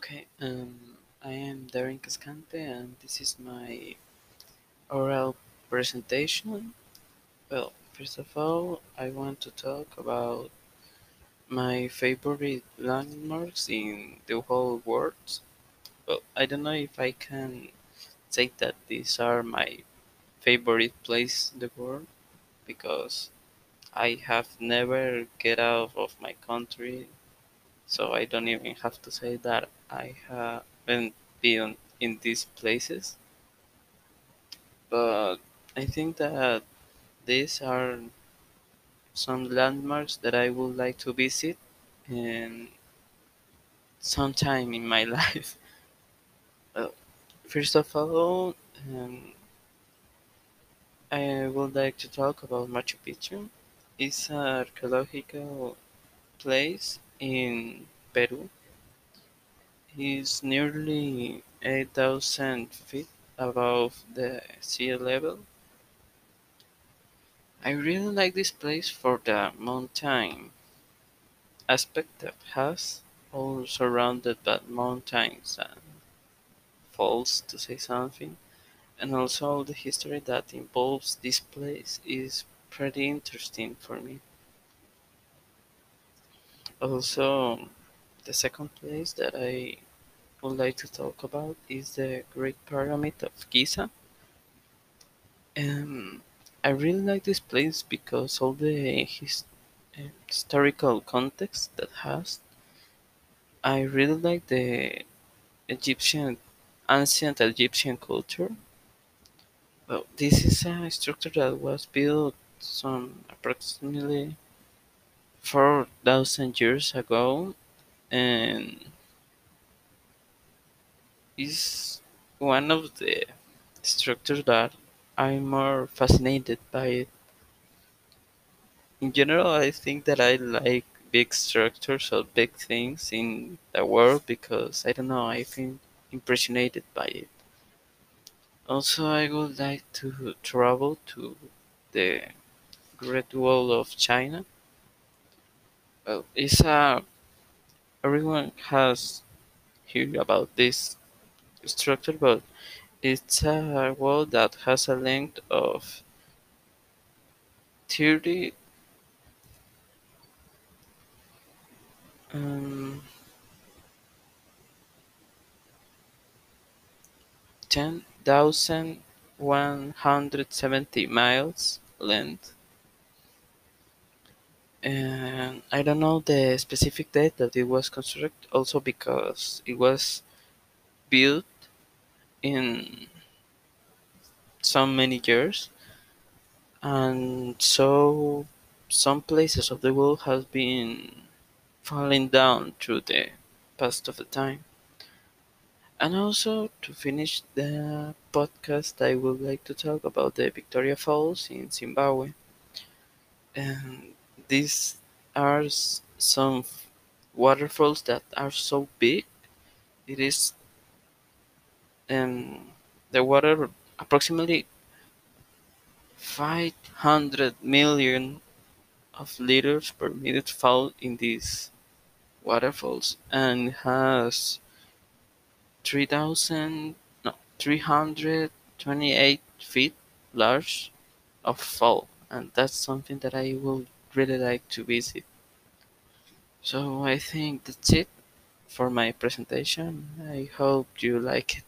Okay, I am Darren Cascante, and this is my oral presentation. Well, first of all, I want to talk about my favorite landmarks in the whole world. Well, I don't know if I can say that these are my favorite place in the world because I have never get out of my country, so I don't even have to say that I haven't been in these places. But I think that these are some landmarks that I would like to visit in sometime in my life. Well, first of all, I would like to talk about Machu Picchu. It's an archaeological place in Peru. It's nearly 8,000 feet above the sea level. I really like this place for the mountain aspect that has, all surrounded by mountains and falls to say something, and also the history that involves this place is pretty interesting for me. Also, the second place that I would like to talk about is the Great Pyramid of Giza. Um, I really like this place because all the historical context that has. I really like the Egyptian, ancient Egyptian culture. Well, this is a structure that was built some approximately 4,000 years ago and is one of the structures that I'm more fascinated by it. In general, I think that I like big structures or big things in the world because I don't know, I feel impressionated by it. Also, I would like to travel to the Great Wall of China. Well, it's a everyone has heard about this structure, but it's a wall that has a length of 30 um, 10,170 miles length. And I don't know the specific date that it was constructed, also because it was built in so many years, and so some places of the world have been falling down through the past of the time. And also to finish the podcast, I would like to talk about the Victoria Falls in Zimbabwe. And these are some waterfalls that are so big. It is the water approximately 500 million of liters per minute fall in these waterfalls and has 3,000 no 328 feet large of fall, and that's something that I would really like to visit. So I think that's it for my presentation. I hope you like it.